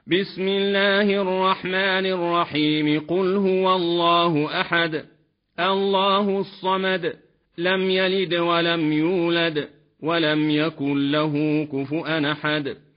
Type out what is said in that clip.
بسم الله الرحمن الرحيم قل هو الله أحد الله الصمد لم يلد ولم يولد ولم يكن له كفؤا أحد